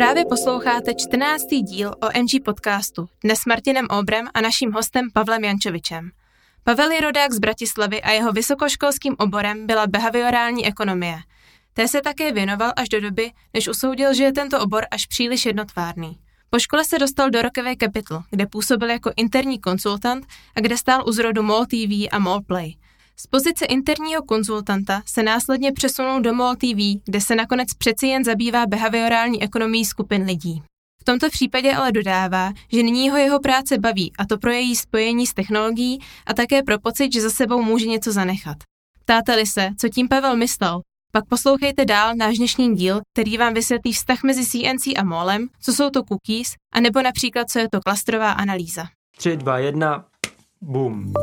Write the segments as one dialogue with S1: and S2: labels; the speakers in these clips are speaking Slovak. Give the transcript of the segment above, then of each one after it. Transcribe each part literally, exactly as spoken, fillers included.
S1: Právě posloucháte čtrnáctý díl O M G podcastu, dnes s Martinem Obrem a naším hostem Pavlem Jančovičem. Pavel je rodák z Bratislavy a jeho vysokoškolským oborem byla behaviorální ekonomie. Té se také věnoval až do doby, než usoudil, že je tento obor až příliš jednotvárný. Po škole se dostal do Rockaway Capital, kde působil jako interní konzultant a kde stál u zrodu MOL T V a MOL Play. Z pozice interního konzultanta se následně přesunul do MOL T V, kde se nakonec přeci jen zabývá behaviorální ekonomií skupin lidí. V tomto případě ale dodává, že nyní ho jeho práce baví, a to pro její spojení s technologií a také pro pocit, že za sebou může něco zanechat. Ptáte-li se, co tím Pavel myslel, pak poslouchejte dál náš dnešní díl, který vám vysvětlí vztah mezi C N C a MOLem, co jsou to cookies, anebo například, co je to klastrová analýza.
S2: tři, dva, jedna, boom.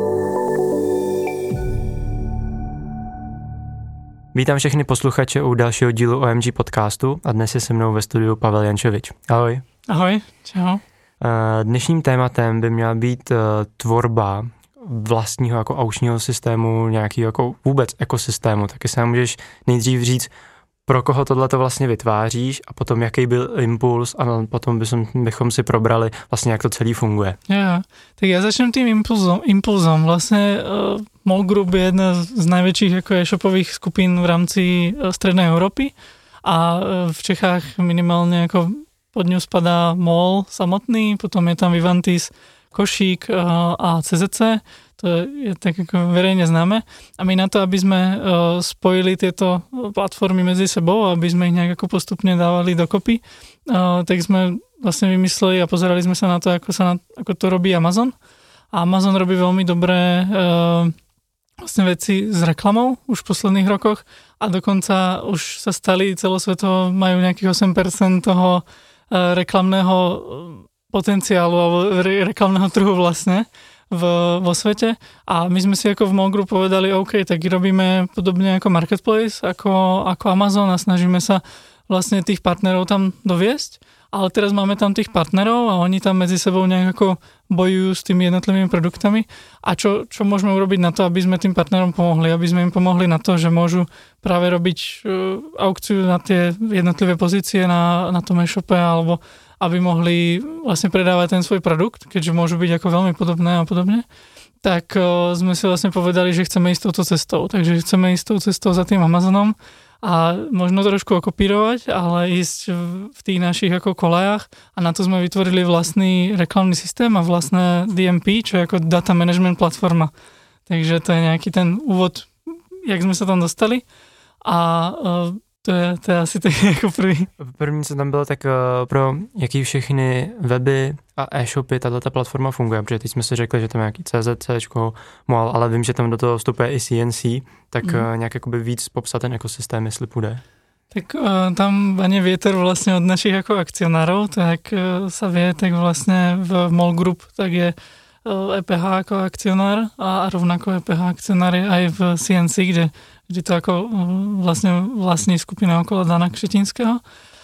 S2: Vítám všechny posluchače u dalšího dílu O M G podcastu a dnes je se mnou ve studiu Pavel Jančovič. Ahoj.
S3: Ahoj, čau.
S2: Dnešním tématem by měla být tvorba vlastního jako aučního systému, nějakého jako vůbec ekosystému. Taky se nám můžeš nejdřív říct, pro koho tohleto vlastně vytváříš a potom jaký byl impuls a potom bychom, bychom si probrali vlastně, jak to celý funguje.
S3: Ja, tak ja začnem tým impulzom. impulzom. Vlastne uh, MOL Group je jedna z najväčších ako e-shopových skupín v rámci uh, Strednej Európy a uh, v Čechách minimálne ako pod ňu spadá MOL samotný, potom je tam Vivantis, Košík uh, a C Z C. To je tak ako verejne známe. A my na to, aby sme uh, spojili tieto platformy medzi sebou, aby sme ich nejak ako postupne dávali dokopy, uh, tak sme vlastne vymysleli a pozerali sme sa na to, ako, sa na, ako to robí Amazon. A Amazon robí veľmi dobré uh, vlastne veci s reklamou už v posledných rokoch a dokonca už sa stali celosvetovo, majú nejakých osem percent toho uh, reklamného potenciálu alebo re- reklamného trhu vlastne v, vo svete a my sme si ako v MOL Group povedali, OK, tak robíme podobne ako Marketplace, ako, ako Amazon a snažíme sa vlastne tých partnerov tam doviesť, ale teraz máme tam tých partnerov a oni tam medzi sebou nejak ako bojujú s tými jednotlivými produktami a čo, čo môžeme urobiť na to, aby sme tým partnerom pomohli, aby sme im pomohli na to, že môžu práve robiť uh, aukciu na tie jednotlivé pozície na, na tom e-shope alebo aby mohli vlastne predávať ten svoj produkt, keďže môžu byť ako veľmi podobné a podobne, tak uh, sme si vlastne povedali, že chceme ísť touto cestou. Takže chceme ísť tou cestou za tým Amazonom a možno trošku okopírovať, ale ísť v, v tých našich ako kolajách a na to sme vytvorili vlastný reklamný systém a vlastné D M P, čo je ako Data Management platforma. Takže to je nejaký ten úvod, jak sme sa tam dostali a uh, To je, to je asi tak jako první.
S2: První, co tam bylo, tak uh, pro jaký všechny weby a e-shopy tato platforma funguje, protože teď jsme si řekli, že tam je nějaký C Z C, MOL, ale vím, že tam do toho vstupuje i C N C, tak mm. uh, nějak jakoby víc popsat ten ekosystém, jestli půjde.
S3: Tak uh, tam vane vietor vlastne od našich ako akcionárov, tak uh, sa vie, tak vlastne v MOL Group tak je uh, E P H ako akcionár a rovnako E P H akcionár je aj v C N C, kde kde to ako vlastne vlastní skupina okolo Dana Kšetinského.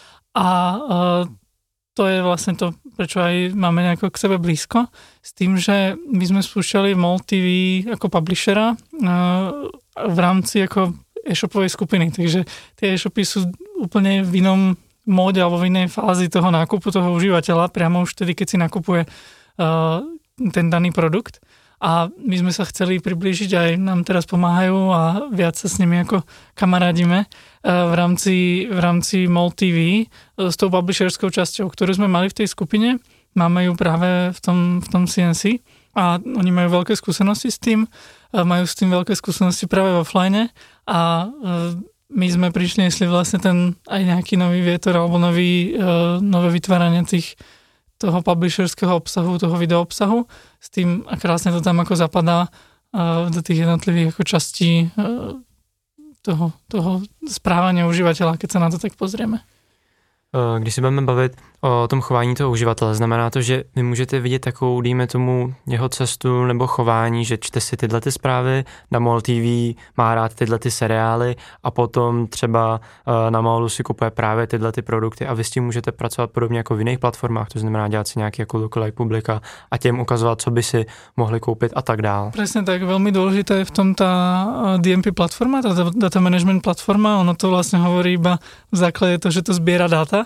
S3: A uh, to je vlastne to, prečo aj máme nejako k sebe blízko, s tým, že my sme spúšťali MOL T V ako publishera uh, v rámci ako e-shopovej skupiny. Takže tie e-shopy sú úplne v inom móde alebo v inej fázi toho nákupu toho užívateľa, priamo už vtedy, keď si nakupuje uh, ten daný produkt. A my sme sa chceli priblížiť, aj nám teraz pomáhajú a viac sa s nimi ako kamarádime v rámci, v rámci MOL T V s tou publisherskou časťou, ktorú sme mali v tej skupine. Máme ju práve v tom, v tom C N C a oni majú veľké skúsenosti s tým, majú s tým veľké skúsenosti práve v offline a my sme prišli, jestli vlastne ten aj nejaký nový vietor alebo nový, nové vytváranie tých toho publisherského obsahu, toho video obsahu, s tým a krásne to tam ako zapadá uh, do tých jednotlivých ako častí uh, toho, toho správania užívateľa, keď sa na to tak pozrieme.
S2: Když se budeme bavit o tom chování toho uživatele, znamená to, že vy můžete vidět takovou, dejme tomu, jeho cestu nebo chování, že čte si tyhle ty zprávy, na MOL T V má rád tyhle ty seriály a potom třeba na MOLu si kupuje právě tyhle ty produkty a vy s tím můžete pracovat podobně jako v jiných platformách, to znamená dělat si nějaký jako lookalike publika a těm ukazovat, co by si mohli koupit a tak dál.
S3: Presne tak, veľmi dôležité je v tom tá D M P platforma, tá data management platforma, ono to vlastne hovorí iba v základe to, že to zbiera dáta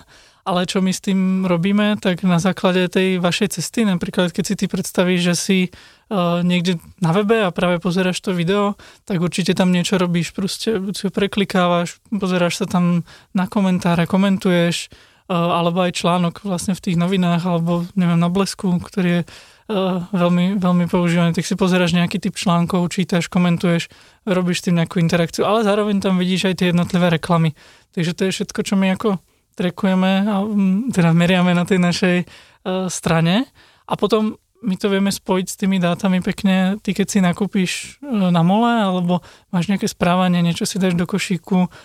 S3: ale čo my s tým robíme, tak na základe tej vašej cesty, napríklad keď si ty predstavíš, že si uh, niekde na webe a práve pozeráš to video, tak určite tam niečo robíš, proste si ho preklikávaš, pozeráš sa tam na komentáre, komentuješ, uh, alebo aj článok vlastne v tých novinách, alebo neviem, na Blesku, ktorý je uh, veľmi, veľmi používaný, tak si pozeráš nejaký typ článkov, čítaš, komentuješ, robíš s tým nejakú interakciu, ale zároveň tam vidíš aj tie jednotlivé reklamy. Takže to je všetko, čo my ako trackujeme a teda meriame na tej našej uh, strane a potom my to vieme spojiť s tými dátami pekne, ty keď si nakúpiš uh, na mole alebo máš nejaké správanie, niečo si dáš do košíku uh,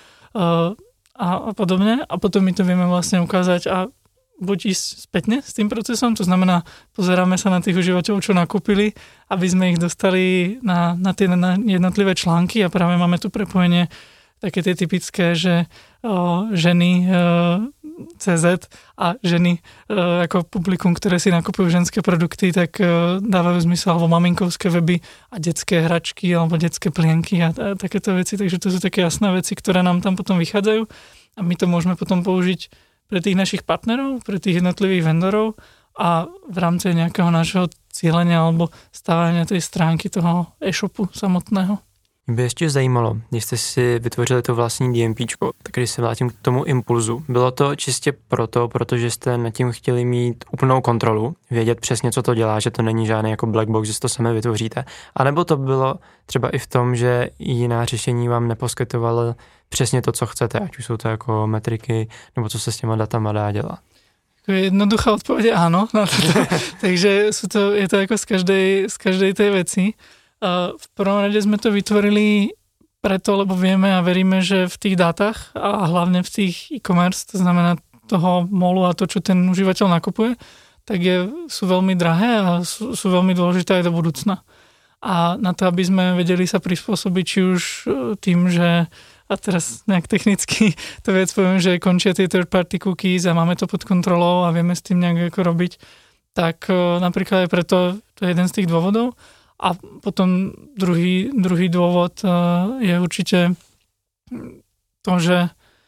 S3: a, a podobne a potom my to vieme vlastne ukázať a buď ísť spätne s tým procesom, to znamená pozeráme sa na tých užívateľov, čo nakúpili, aby sme ich dostali na, na tie na jednotlivé články a práve máme tu prepojenie také tie typické, že o, ženy o, cé zet a ženy o, ako publikum, ktoré si nakupujú ženské produkty, tak o, dávajú zmysel, alebo maminkovské weby a detské hračky, alebo detské plienky a, a takéto veci. Takže to sú také jasné veci, ktoré nám tam potom vychádzajú a my to môžeme potom použiť pre tých našich partnerov, pre tých jednotlivých vendorov a v rámci nejakého našeho cílenia alebo stávania tej stránky toho e-shopu samotného.
S2: Mě by ještě zajímalo, když jste si vytvořili to vlastní DMPčko, tak když se vrátím k tomu impulzu, bylo to čistě proto, protože jste nad tím chtěli mít úplnou kontrolu, vědět přesně, co to dělá, že to není žádný jako black box, že si to sami vytvoříte, anebo to bylo třeba i v tom, že jiná řešení vám neposkytovalo přesně to, co chcete, ať už jsou to jako metriky, nebo co se s těma datama dá dělat?
S3: Jednoduchá odpoveď je áno, na toto. Takže sú to, je to ako z každej, z každej tej veci. V prvom rade sme to vytvorili preto, lebo vieme a veríme, že v tých dátach a hlavne v tých e-commerce, to znamená toho molu a to, čo ten užívateľ nakupuje, tak je, sú veľmi drahé a sú, sú veľmi dôležité aj do budúcna. A na to, aby sme vedeli sa prispôsobiť, či už tým, že a teraz nejak technicky to viac poviem, že končia tie third party cookies a máme to pod kontrolou a vieme s tým nejak ako robiť, tak napríklad aj preto to je jeden z tých dôvodov. A potom druhý, druhý dôvod je určite to, že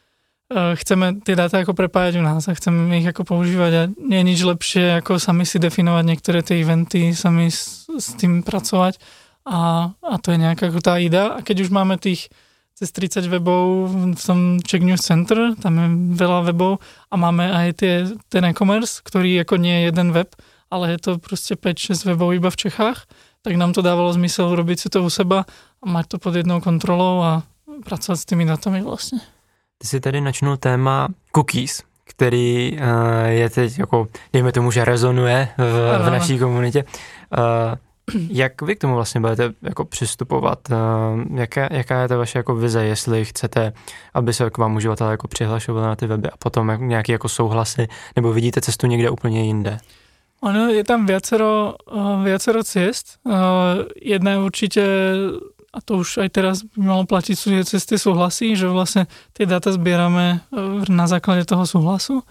S3: chceme tie dáta ako prepájať u nás a chceme ich ako používať a nie je nič lepšie, ako sami si definovať niektoré tie eventy, sami s, s tým pracovať a, a to je nejaká tá idea. A keď už máme tých cez tridsať webov v tom Czech News Center, tam je veľa webov a máme aj tie, ten e-commerce, ktorý ako nie je jeden web, ale je to proste päť šesť webov iba v Čechách, tak nám to dávalo zmysel urobiť si to u seba a mať to pod jednou kontrolou a pracovat s tými datami vlastně.
S2: Ty si tady načnul téma cookies, který uh, je teď jako, dejme tomu, že rezonuje v, v naší komunitě. Uh, jak vy k tomu vlastně budete jako přistupovat? Uh, jaká, jaká je ta vaše jako vize, jestli chcete, aby se k vám uživatelé jako přihlašovali na ty weby a potom jak, nějaký jako souhlasy, nebo vidíte cestu někde úplně jinde?
S3: Ono je tam viacero, viacero ciest. Jedna je určite, a to už aj teraz by malo platiť, sú cez tie súhlasy, že vlastne tie dáta zbierame na základe toho súhlasu.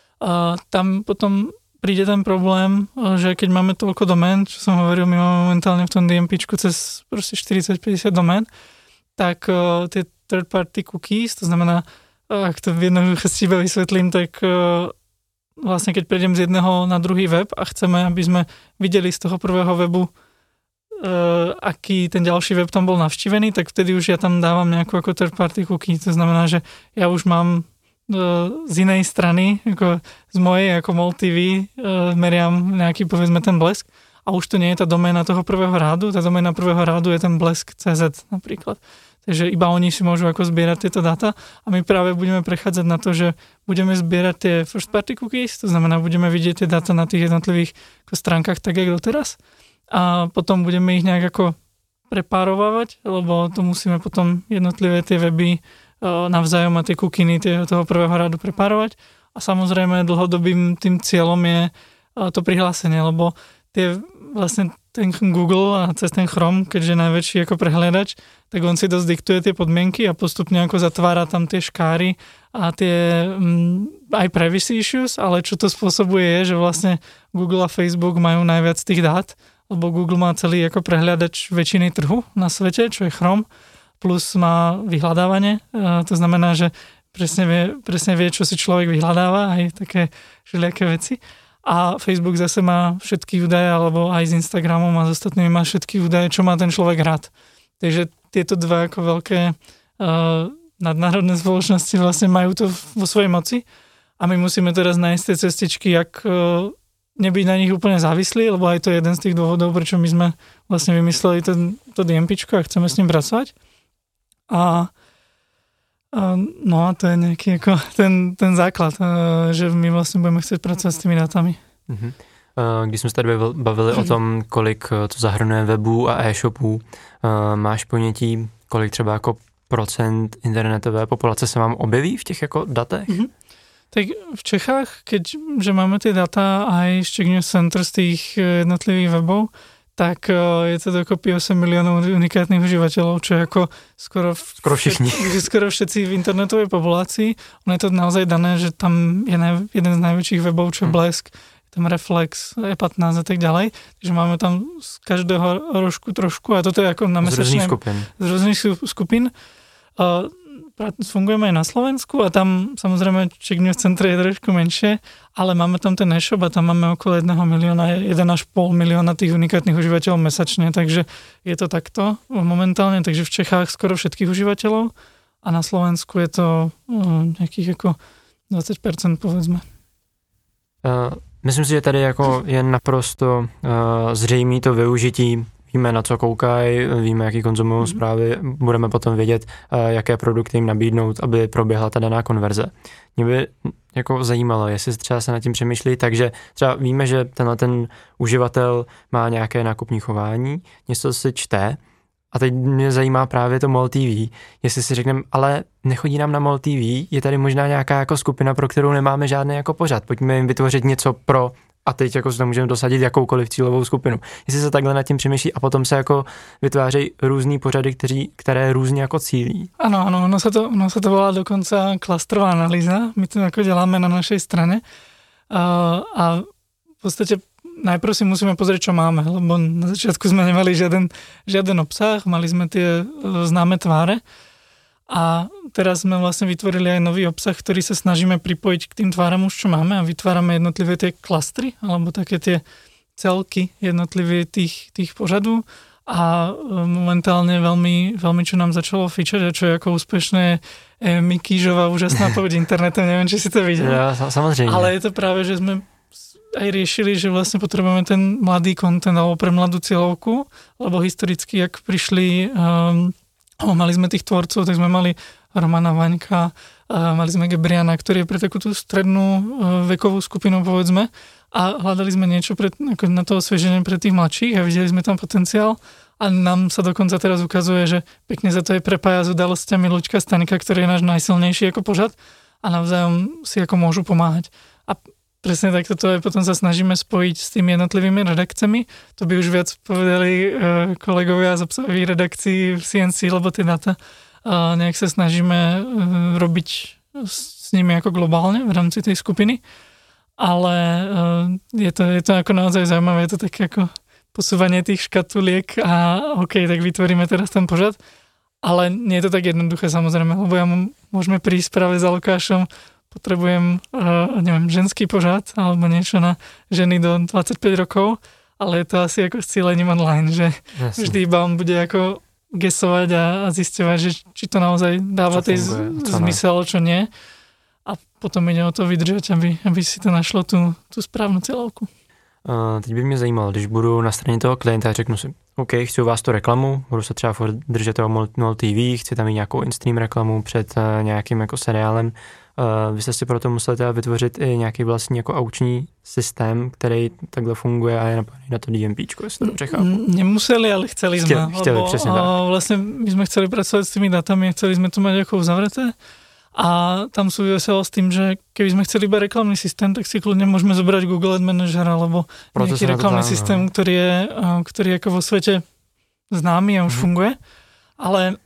S3: Tam potom príde ten problém, že keď máme toľko domén, čo som hovoril, my máme momentálne v tom DMPčku cez proste štyridsať päťdesiat domén, tak tie third party cookies, to znamená, ak to v jednoduchosti iba vysvetlím, tak vlastne keď prejdem z jedného na druhý web a chceme, aby sme videli z toho prvého webu, uh, aký ten ďalší web tam bol navštívený, tak vtedy už ja tam dávam nejakú ako third party cookie. To znamená, že ja už mám uh, z inej strany, ako z mojej, ako MOL té vé, uh, meriam nejaký, povedzme, ten blesk a už to nie je tá doména toho prvého rádu, tá doména prvého rádu je ten blesk cé zet napríklad. Takže iba oni si môžu ako zbierať tieto dáta a my práve budeme prechádzať na to, že budeme zbierať tie first party cookies, to znamená, budeme vidieť tie dáta na tých jednotlivých ako stránkach tak, jak doteraz a potom budeme ich nejak ako prepárovávať, lebo to musíme potom jednotlivé tie weby navzájom a tie kukiny toho prvého rádu prepárovať a samozrejme dlhodobým tým cieľom je to prihlásenie, lebo tie vlastne ten Google a cez ten Chrome, keďže je najväčší ako prehliadač, tak on si dosť diktuje tie podmienky a postupne ako zatvára tam tie škáry a tie m, aj privacy issues, ale čo to spôsobuje je, že vlastne Google a Facebook majú najviac tých dát, lebo Google má celý ako prehliadač väčšiny trhu na svete, čo je Chrome, plus má vyhľadávanie, to znamená, že presne vie, presne vie, čo si človek vyhľadáva, aj také všelijaké veci. A Facebook zase má všetky údaje, alebo aj s Instagramom a s ostatnými má všetky údaje, čo má ten človek rád. Takže tieto dva ako veľké uh, nadnárodné spoločnosti vlastne majú to vo svojej moci a my musíme teraz nájsť tie cestičky, jak uh, nebyť na nich úplne závislí, lebo aj to je jeden z tých dôvodov, prečo my sme vlastne vymysleli ten, to DMPčko a chceme s ním pracovať. A no a to je nejaký ako ten, ten základ, že my vlastně budeme chcet pracovat s těmi datami.
S2: Mm-hmm. Když jsme se tady bavili o tom, kolik to zahrnuje webů a e-shopů, máš ponětí, kolik třeba jako procent internetové populace se vám objeví v těch jako datech? Mm-hmm.
S3: Tak v Čechách, keďže máme ty data aj z Czech News Center z tých jednotlivých webov, tak je to dokopy osem miliónov unikátnych užívateľov, čo je ako skoro,
S2: skoro všichni.
S3: Skoro všetci v internetovej populácii. Ono je to naozaj dané, že tam je naj, jeden z najväčších webov, čo je Blesk, je tam Reflex, E pätnásť a tak ďalej. Takže máme tam z každého rožku trošku a toto je ako na mesačné... Z rôznych skupín. Z rôznych skupín. Uh, fungujeme aj na Slovensku a tam samozrejme Czech News Center je trošku menšie, ale máme tam ten e-shop a tam máme okolo jedného milióna, jeden až pol milióna tých unikátnych užívateľov mesačne, takže je to takto momentálne, takže v Čechách skoro všetkých užívateľov a na Slovensku je to uh, nejakých ako dvadsať percent povedzme.
S2: Uh, myslím si, že tady jako je naprosto uh, zřejmý to využití. Víme, na co koukají, víme, jaký konzumují mm. zprávy, budeme potom vědět, jaké produkty jim nabídnout, aby proběhla ta daná konverze. Mě by jako zajímalo, jestli třeba se nad tím přemýšlí, takže třeba víme, že tenhle ten uživatel má nějaké nákupní chování, něco si čte a teď mě zajímá právě to MOL T V, jestli si řekneme, ale nechodí nám na MOL T V, je tady možná nějaká jako skupina, pro kterou nemáme žádný jako pořad, pojďme jim vytvořit něco pro a teď jako se můžeme dosadit jakoukoliv cílovou skupinu. Jestli se takhle nad tím přemýšlí a potom se jako vytvářejí různý pořady, kteří, které různě jako cílí.
S3: Ano, ano, ono se to, ono se to volá dokonce klastrová analýza. My to jako děláme na našej strane. A, a v podstate najprv si musíme pozrieť, čo máme, lebo na začiatku sme nemali žiaden, žiaden obsah, mali sme tie známe tváre. A teraz sme vlastne vytvorili aj nový obsah, ktorý sa snažíme pripojiť k tým tváram už, čo máme a vytvárame jednotlivé tie klastry, alebo také tie celky jednotlivé tých, tých pořadů a momentálne veľmi, veľmi čo nám začalo fičať a čo je ako úspešné je Mikýžová úžasná poď internetem, neviem, či si to videl.
S2: Ja, samozrejme.
S3: Ale je to práve, že sme aj riešili, že vlastne potrebujeme ten mladý content alebo pre mladú cieľovku, lebo historicky, jak prišli um, mali sme tých tvorcov, tak sme mali Romana Vaňka, mali sme Gebriana, ktorý je pre takú tú strednú vekovú skupinu, povedzme, a hľadali sme niečo pre, ako na to osvieženie pre tých mladších a videli sme tam potenciál a nám sa dokonca teraz ukazuje, že pekne sa to aj prepája s udalosťami Luďka Staňka, ktorý je náš najsilnejší ako pořad a navzájom si ako môžu pomáhať. A presne takto to aj potom sa snažíme spojiť s tými jednotlivými redakcemi. To by už viac povedali kolegovia z obsahových redakcií v C N C, lebo tie data nejak sa snažíme robiť s nimi ako globálne v rámci tej skupiny. Ale je to, je to ako naozaj zaujímavé, je to také ako posúvanie tých škatuliek a OK, tak vytvoríme teraz ten pořad. Ale nie je to tak jednoduché samozrejme, lebo ja môžeme prísť práve za Lukášom, potrebujem, uh, neviem, ženský pořad alebo niečo na ženy do dvadsaťpäť rokov, ale je to asi ako s cílením online, že Jasne. Vždy iba on bude ako gesovať a, a zisťovať, že či to naozaj dáva tej zmysel, čo nie. A potom ide o to vydržať, aby, aby si to našlo tú, tú správnu cieľovku.
S2: Uh, teď by mě zajímalo, když budu na straně toho klienta a řeknu si, OK, chci u vás tu reklamu, budu se třeba furt držet toho MOL T V, chci tam mít nějakou in-stream reklamu před uh, nějakým jako seriálem. Uh, vy jste si proto museli teda vytvořit i nějaký vlastní jako aukční systém, který takhle funguje a je napojený na to DMPčko, jestli to dobře chápu.
S3: Nemuseli, ale chceli sme.
S2: Chtěli, chtěli
S3: lebo,
S2: přesně tak.
S3: Vlastne my sme chceli pracovať s tými datami a chceli sme to mať ako uzavreté. A tam súviselo s tým, že keby sme chceli iba reklamný systém, tak si kľudne môžeme zobrať Google Ad Manager alebo proto nejaký reklamný systém, ktorý je, ktorý je ako vo svete známy a už mm. funguje. Ale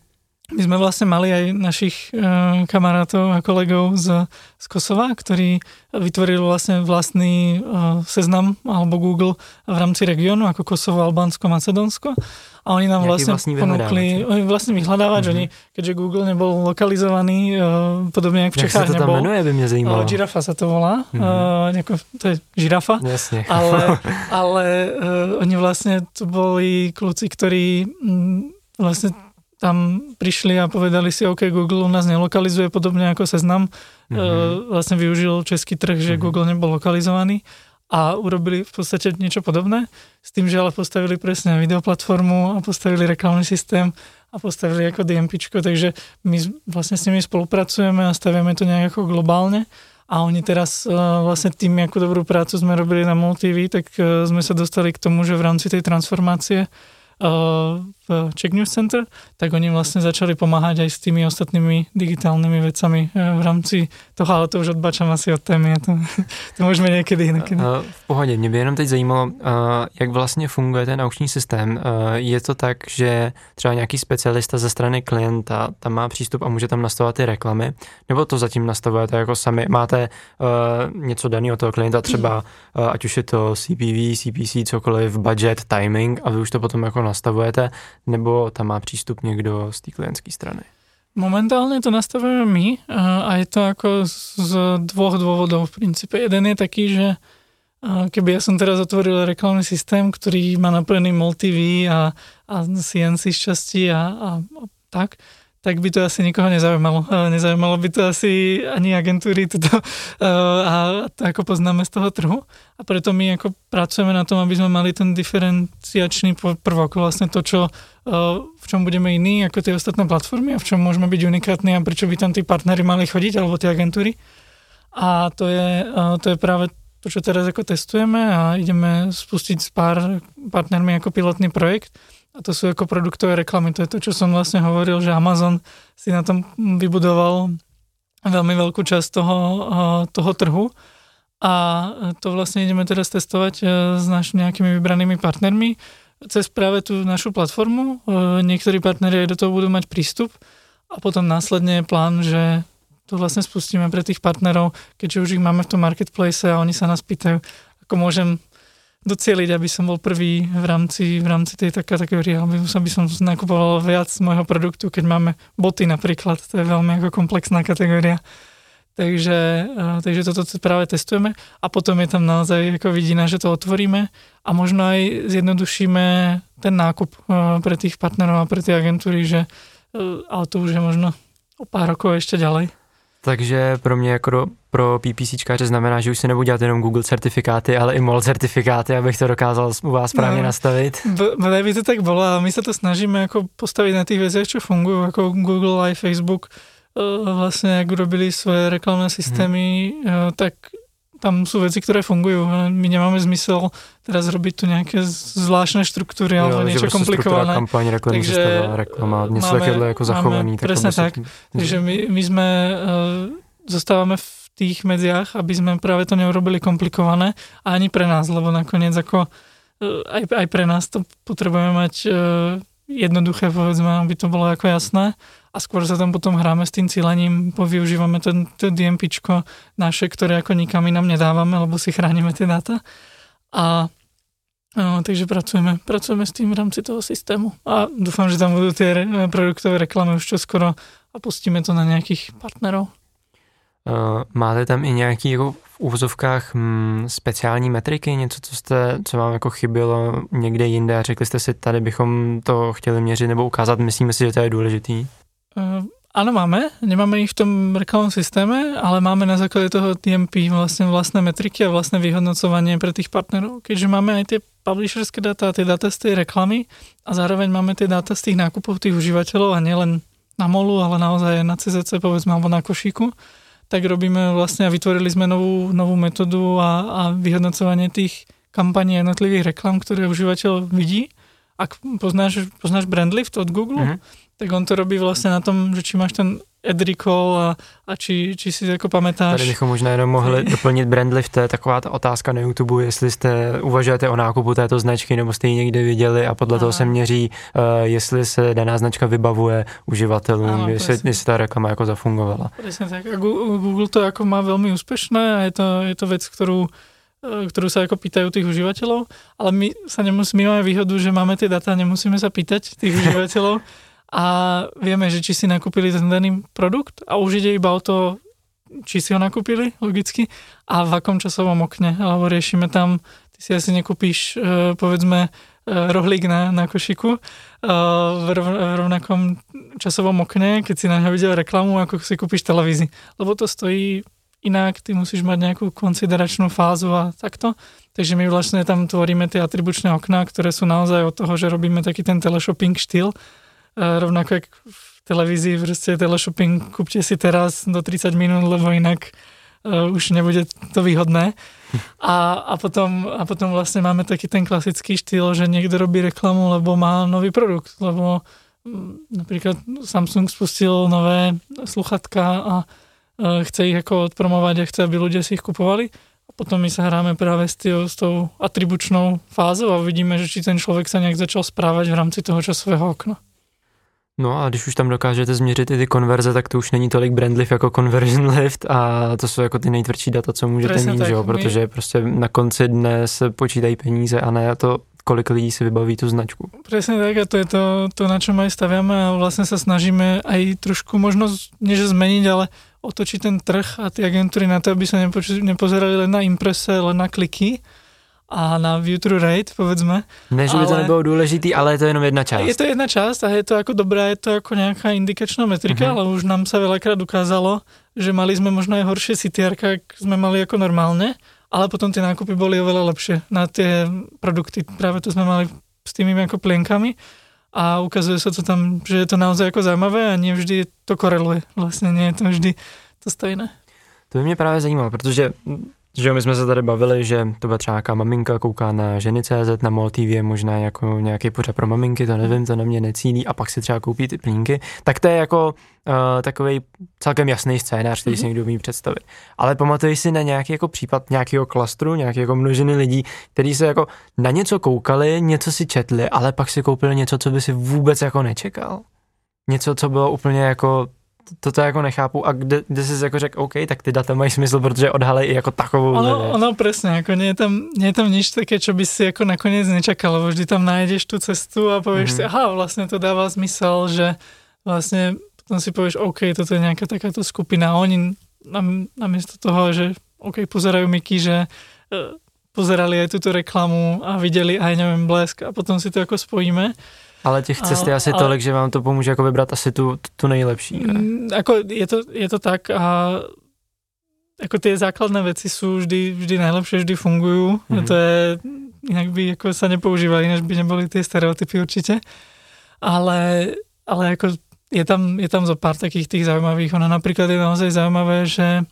S3: my sme vlastne mali aj našich uh, kamarátov a kolegov z, z Kosova, ktorí vytvorili vlastne vlastný uh, seznam alebo Google v rámci regiónu ako Kosovo, Albánsko, Macedónsko. a oni nám vlastne ponúkli, oni vlastne vyhľadávač, mm-hmm. oni, keďže Google nebol lokalizovaný, uh, podobne ako v Čechách nebol. Jak sa to tam
S2: menuje, by mňa zajímalo. Uh,
S3: Girafa sa to volá, mm-hmm. uh, nejako, to je žirafa,
S2: jasne.
S3: ale, ale uh, oni vlastne to boli kľúci, ktorí m, vlastne tam prišli a povedali si, OK, Google u nás nelokalizuje, podobne ako Seznam. Mm-hmm. Uh, vlastne využil český trh, že mm-hmm. Google nebol lokalizovaný a urobili v podstate niečo podobné, s tým, že ale postavili presne videoplatformu a postavili reklamný systém a postavili ako DMPčko, takže my vlastne s nimi spolupracujeme a staviame to nejak ako globálne a oni teraz uh, vlastne tým, akú dobrú prácu sme robili na MOL.tv, tak uh, sme sa dostali k tomu, že v rámci tej transformácie v Czech News Center, tak oni vlastne začali pomáhať aj s tými ostatnými digitálnymi vecami v rámci toho, ale to už odbačám asi od témy, to, to můžeme někdy jinakedy.
S2: V pohodě, mě by jenom teď zajímalo, jak vlastně funguje ten aukční systém. Je to tak, že třeba nějaký specialista ze strany klienta tam má přístup a může tam nastavovat ty reklamy, nebo to zatím nastavujete jako sami? Máte něco daného toho klienta, třeba ať už je to C P V, C P C, cokoliv, budget, timing a vy už to potom jako nastavujete, nebo tam má přístup někdo z té klientské strany?
S3: Momentálne to nastavujeme my a je to ako z dvoch dôvodov v princípe. Jeden je taký, že keby ja som teraz otvoril reklamný systém, ktorý má napojený MOL.tv a, a C N C šťastí a, a, a tak, tak by to asi nikoho nezaujímalo. Nezaujímalo by to asi ani agentúry toto, a to ako poznáme z toho trhu. A preto my ako pracujeme na tom, aby sme mali ten diferenciačný prvok, vlastne to, čo, v čom budeme iní ako tie ostatné platformy a v čom môžeme byť unikátni a prečo by tam tí partneri mali chodiť, alebo tie agentúry. A to je, to je práve to, čo teraz ako testujeme a ideme spustiť s pár partnermi ako pilotný projekt. A to sú ako produktové reklamy. To je to, čo som vlastne hovoril, že Amazon si na tom vybudoval veľmi veľkú časť toho, toho trhu. A to vlastne ideme teraz testovať s našimi nejakými vybranými partnermi cez práve tú našu platformu. Niektorí partneri aj do toho budú mať prístup a potom následne je plán, že to vlastne spustíme pre tých partnerov, keďže už ich máme v tom marketplace a oni sa nás pýtajú, ako môžem docieliť, aby som bol prvý v rámci, v rámci tej kategórie, aby, aby som nakupoval viac môjho produktu, keď máme boty napríklad, to je veľmi ako komplexná kategória. Takže, takže toto práve testujeme a potom je tam naozaj ako vidina, že to otvoríme a možno aj zjednodušíme ten nákup pre tých partnerov a pre tie agentúry, že, ale to už je možno o pár rokov ešte ďalej.
S2: Takže pro mě jako pro PPCčkáře znamená, že už se nebudu dělat jenom Google certifikáty, ale i MOL certifikáty, abych to dokázal u vás správně no, nastavit.
S3: Bodaj by to tak bolo a my sa to snažíme ako postaviť na tých veciach, čo fungujú, ako Google aj Facebook vlastne, ak urobili svoje reklamné systémy, hmm. tak tam sú veci, ktoré fungujú. My nemáme zmysel teraz robiť tu nejaké zvláštne štruktúry jo, alebo niečo komplikované.
S2: Kampaň, reklamní systém, reklama, něco takéhle jako zachovaný.
S3: Tak presne tak. Tým... Takže my, my sme uh, zostávame v tých medziach, aby sme práve to neurobili komplikované a ani pre nás, lebo nakoniec ako uh, aj, aj pre nás to potrebujeme mať uh, jednoduché, povedzme, aby to bolo ako jasné. A skôr sa tam potom hráme s tým cílením, využívame ten, ten DMPčko naše, ktoré ako nikam inám nedávame, lebo si chránime tie dáta. A no, takže pracujeme, pracujeme s tým v rámci toho systému. A dúfam, že tam budú tie re, produktové reklamy už čoskoro a pustíme to na nejakých partnerov.
S2: Uh, máte tam i nějaký jako v úvozovkách hm, speciální metriky, něco, co, jste, co vám jako chybělo někde jinde a řekli jste si, tady bychom to chtěli měřit nebo ukázat, myslíme si, že to je důležitý?
S3: Uh, áno, máme. Nemáme ich v tom reklamnom systéme, ale máme na základe toho T M P vlastne vlastné metriky a vlastné vyhodnocovanie pre tých partnerov. Keďže máme aj tie publisherské dáta, tie dáta z tej reklamy a zároveň máme tie dáta z tých nákupov tých užívateľov a nielen na MOLu, ale naozaj na C Z C, povedzme, alebo na košíku, tak robíme vlastne a vytvorili sme novú, novú metódu a, a vyhodnocovanie tých kampaní jednotlivých reklam, ktoré užívateľ vidí. Ak poznáš, poznáš Brandlift od Google, mm-hmm. tak on to robí vlastne na tom, že či máš ten ad recall a, a či, či si jako pamätáš.
S2: Tady bychom možná jenom mohli doplnit Brandlift, to je taková ta otázka na YouTube, jestli jste uvažujete o nákupu této značky, nebo jste ji někde viděli a podle Aha. toho se měří, uh, jestli se daná značka vybavuje uživatelům, ano, jestli, jestli ta reklama jako zafungovala.
S3: Presne tak. A Google to jako má veľmi úspešné a je to, je to vec, ktorú ktorú sa ako pýtajú tých užívateľov, ale my sa nemusíme, my máme výhodu, že máme tie data, nemusíme sa pýtať tých užívateľov a vieme, že či si nakúpili ten daný produkt a už ide iba o to, či si ho nakúpili, logicky, a v akom časovom okne, alebo riešime tam, ty si asi nekúpíš, povedzme, rohlík na, na košiku v, rov, v rovnakom časovom okne, keď si na ňa videl reklamu, ako si kúpiš televízii. Lebo to stojí inak, ty musíš mať nejakú konsideračnú fázu a takto. Takže my vlastne tam tvoríme tie atribučné okná, ktoré sú naozaj od toho, že robíme taký ten teleshopping štýl. Rovnako jak v televízii, proste teleshopping kúpte si teraz do tridsať minút, lebo inak uh, už nebude to výhodné. A, a, potom, a potom vlastne máme taký ten klasický štýl, že niekto robí reklamu, lebo má nový produkt, lebo m, napríklad Samsung spustil nové sluchatka a chce ich ako odpromovať a chce, aby ľudia si ich kupovali. A potom my sa hráme práve s, tý, s tou atribučnou fázou a vidíme, že či ten človek sa nejak začal správať v rámci toho časového okna.
S2: No a když už tam dokážete změřit i ty konverze, tak to už není tolik brand lift jako conversion lift a to jsou jako ty nejtvrdší data, co můžete Presne mít, tak, jo? Protože my... prostě na konci dne se počítají peníze a ne to, kolik lidí si vybaví tú značku. Presne tak a to je to, to na čom aj staviame a vlastne sa snažíme aj trošku možno, než zmeniť, ale otočiť ten trh a tie agentúry na to, aby sa nepoč- nepozerali len na imprese, len na kliky a na view-through rate, povedzme. Ne, že by to nebylo dôležitý, ale je to jenom jedna časť. Je to jedna časť a je to ako dobrá, je to ako nejaká indikačná metrika, uh-huh. ale už nám sa veľakrát ukázalo, že mali sme možno aj horšie C T R, ak sme mali ako normálne, ale potom tie nákupy boli oveľa lepšie na tie produkty. Práve to sme mali s tými ako plienkami a ukazuje sa to tam, že je to naozaj ako zaujímavé a nie vždy to koreluje. Vlastne nie je to vždy to stejné. To by mě právě zajímalo, protože že my jsme se tady bavili, že to byla třeba nějaká maminka, kouká na ženy tečka cé zet, na MOL T V je možná jako nějaký pořad pro maminky, to nevím, to na mě necílí a pak si třeba koupí ty plínky, tak to je jako uh, takovej celkem jasný scénář, který mm-hmm. si někdo umí představit. Ale pamatuješ si na nějaký jako případ nějakého klastru, nějaké jako množiny lidí, kteří se jako na něco koukali, něco si četli, ale pak si koupili něco, co by si vůbec jako nečekal? Něco, co bylo úplně jako toto jako nechápu a kde, kde jsi jako řekl, OK, tak ty data mají smysl, protože odhalej i jako takovou ono, věc. Ono presne, ako nie je tam, nie je tam nič také, čo by si ako nakoniec nečakal, lebo vždy tam nájdeš tú cestu a povieš mm-hmm. si, aha, vlastne to dáva zmysel, že vlastne potom si povieš, OK, toto je nejaká takáto skupina a oni nam, namiesto toho, že OK, pozerajú Miky, že uh, pozerali aj túto reklamu a videli aj, neviem, Blesk a potom si to ako spojíme. Ale těch cest je asi ale, tolik, že vám to pomůže jako vybrat asi tu, tu nejlepší. Ne? Ako je to, je to tak a ako tie základné veci sú vždy, vždy najlepšie, vždy fungujú. Mm-hmm. To je, inak by ako sa nepoužívali, ináč by neboli tie stereotypy určite. Ale, ale ako je tam, je tam zo pár takých tých zaujímavých. Ono napríklad je naozaj zaujímavé, že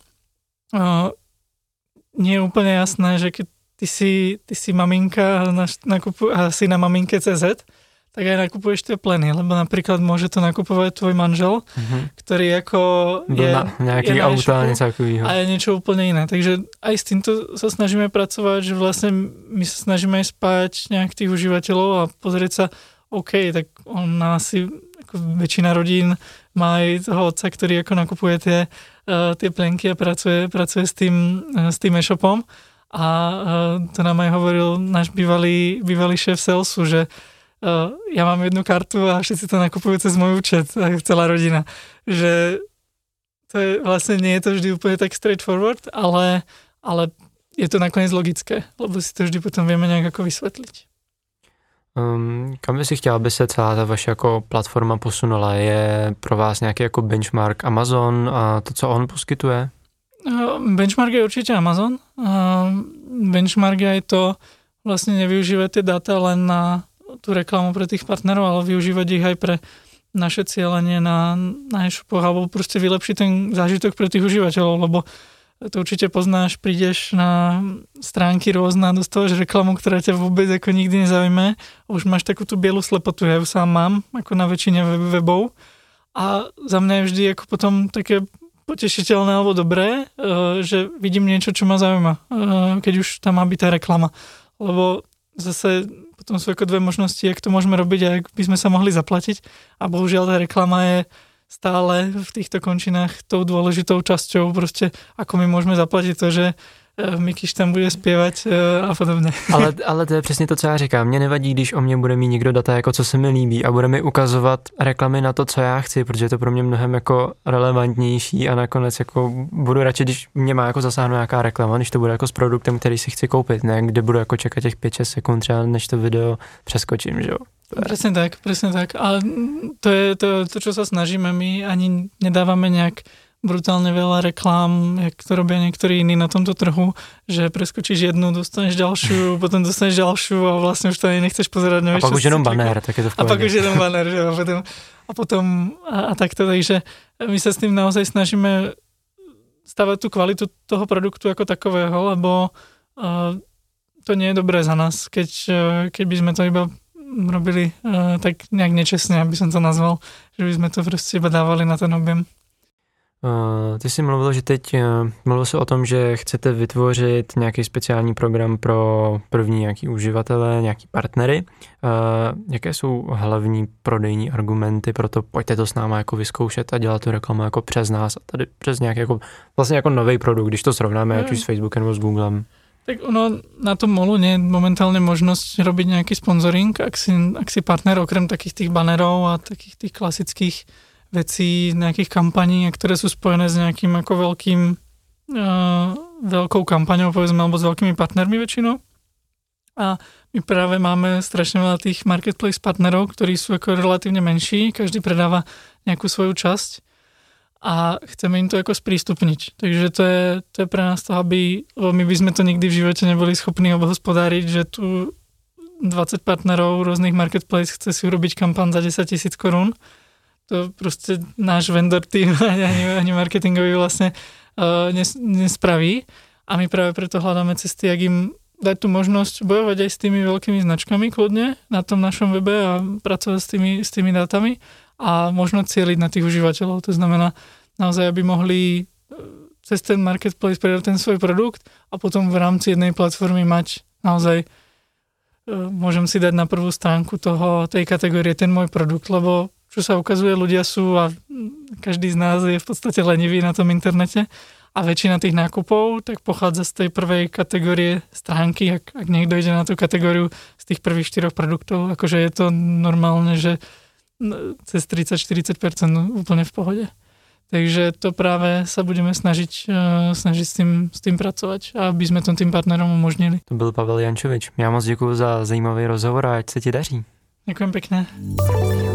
S2: o, nie je úplne jasné, že keď ty si, ty si maminka na, nakupu, a si na maminke tečka cé zet, tak aj nakupuješ tie pleny, lebo napríklad môže to nakupovať tvoj manžel, mm-hmm. ktorý ako je, na, nejaký je auto a niečo takového. A je niečo úplne iné. Takže aj s týmto sa snažíme pracovať, že vlastne my sa snažíme aj spájať nejak tých užívateľov a pozrieť sa, OK, tak on asi, ako väčšina rodín má aj toho otca, ktorý ako nakupuje tie, uh, tie plenky a pracuje, pracuje s tým, uh, s tým e-shopom. A uh, to nám aj hovoril náš bývalý, bývalý šéf salesu, že Uh, ja mám jednu kartu a všetci to nakupujú cez môj účet, celá rodina. Že to je, vlastne nie je to vždy úplne tak straightforward, ale, ale je to nakoniec logické, lebo si to vždy potom vieme nejak ako vysvetliť. Um, kam by si chtěla, aby se celá ta vaše jako platforma posunula? Je pro vás nějaký jako benchmark Amazon a to, co on poskytuje? Uh, benchmark je určite Amazon. Uh, benchmark je aj to vlastne nevyužívať tie data len na tú reklamu pre tých partnerov, ale využívať ich aj pre naše cieľenie na, na e-shopoch alebo proste vylepšiť ten zážitok pre tých užívateľov, lebo to určite poznáš, prídeš na stránky rôzne a dostávaš reklamu, ktorá ťa vôbec ako nikdy nezaujme. Už máš takú tú bielu slepotu, ja ju sám mám, ako na väčšine webov a za mňa je vždy ako potom také potešiteľné alebo dobré, že vidím niečo, čo ma zaujíma, keď už tam má byť tá reklama, lebo zase potom sú ako dve možnosti, jak to môžeme robiť a jak by sme sa mohli zaplatiť. A bohužiaľ tá reklama je stále v týchto končinách tou dôležitou časťou, proste ako my môžeme zaplatiť to, že
S3: Mikyš tam bude zpěvat a podobně.
S2: Ale, ale to je přesně to, co já říkám. Mně nevadí, když o mě bude mít někdo data, jako co se mi líbí a bude mi ukazovat reklamy na to, co já chci, protože je to pro mě mnohem jako relevantnější a nakonec jako budu radši, když mě má jako zasáhnout nějaká reklama, když to bude jako s produktem, který si chci koupit, ne kde budu jako čekat těch pět šest sekund třeba, než to video přeskočím, že jo.
S3: Presne tak, presne tak. Ale to je to, to, čo sa snažíme my, ani nedávame nejak brutálne veľa reklám, jak to robia niektorí iní na tomto trhu, že preskočíš jednu, dostaneš ďalšiu, potom dostaneš ďalšiu a vlastne už to ani nechceš pozerať.
S2: Nevieš, a pak už jenom banner, tak je to v
S3: pohodě. A pak už jenom banner, že a potom, a potom a, a takto, takže my sa s tým naozaj snažíme stavať tú kvalitu toho produktu ako takového, lebo uh, to nie je dobré za nás, keď, keď by sme to iba robili uh, tak nejak nečestne, aby som to nazval, že by sme to prostě iba dávali na ten objem.
S2: Uh, ty jsi mluvil, že teď uh, mluvil se o tom, že chcete vytvořit nějaký speciální program pro první nějaký uživatele, nějaký partnery. Uh, jaké jsou hlavní prodejní argumenty pro to, pojďte to s náma jako vyzkoušet a dělat tu reklamu jako přes nás a tady přes nějaký jako, vlastně jako nový produkt, když to srovnáme, mm. ať už s Facebookem nebo s Googlem.
S3: Tak ono na tom molu nie je momentálne možnosť robiť nejaký sponzoring, ak si, ak si partner okrem takých tých banerov a takých tých klasických vecí, nejakých kampaní, ktoré sú spojené s nejakým ako veľkým uh, veľkou kampaňou, povedzme, alebo s veľkými partnermi väčšinou. A my práve máme strašne veľa tých marketplace partnerov, ktorí sú ako relatívne menší, každý predáva nejakú svoju časť a chceme im to ako sprístupniť. Takže to je, to je pre nás to, aby, lebo my by sme to nikdy v živote neboli schopní obhospodáriť, že tu dvadsať partnerov rôznych marketplace chce si urobiť kampaň za desať tisíc korún. To proste náš vendor tým ani, ani marketingový vlastne uh, nes, nespraví. A my práve preto hľadáme cesty, jak im dať tú možnosť bojovať aj s tými veľkými značkami kľudne na tom našom webe a pracovať s tými, s tými dátami a možno cieliť na tých užívateľov. To znamená naozaj, aby mohli cez ten marketplace predať ten svoj produkt a potom v rámci jednej platformy mať naozaj, môžem si dať na prvú stránku toho, tej kategórie ten môj produkt, lebo čo sa ukazuje, ľudia sú a každý z nás je v podstate lenivý na tom internete a väčšina tých nákupov tak pochádza z tej prvej kategórie stránky, ak, ak niekto ide na tú kategóriu z tých prvých štyroch produktov, akože je to normálne, že cez tridsať až štyridsať percent úplne v pohode. Takže to práve sa budeme snažiť, snažiť s tým, s tým pracovať, aby sme to tým partnerom umožnili.
S2: To byl Pavel Jančovič. Já moc děkuju za zajímavý rozhovor a ať se ti daří.
S3: Ďakujem pekne.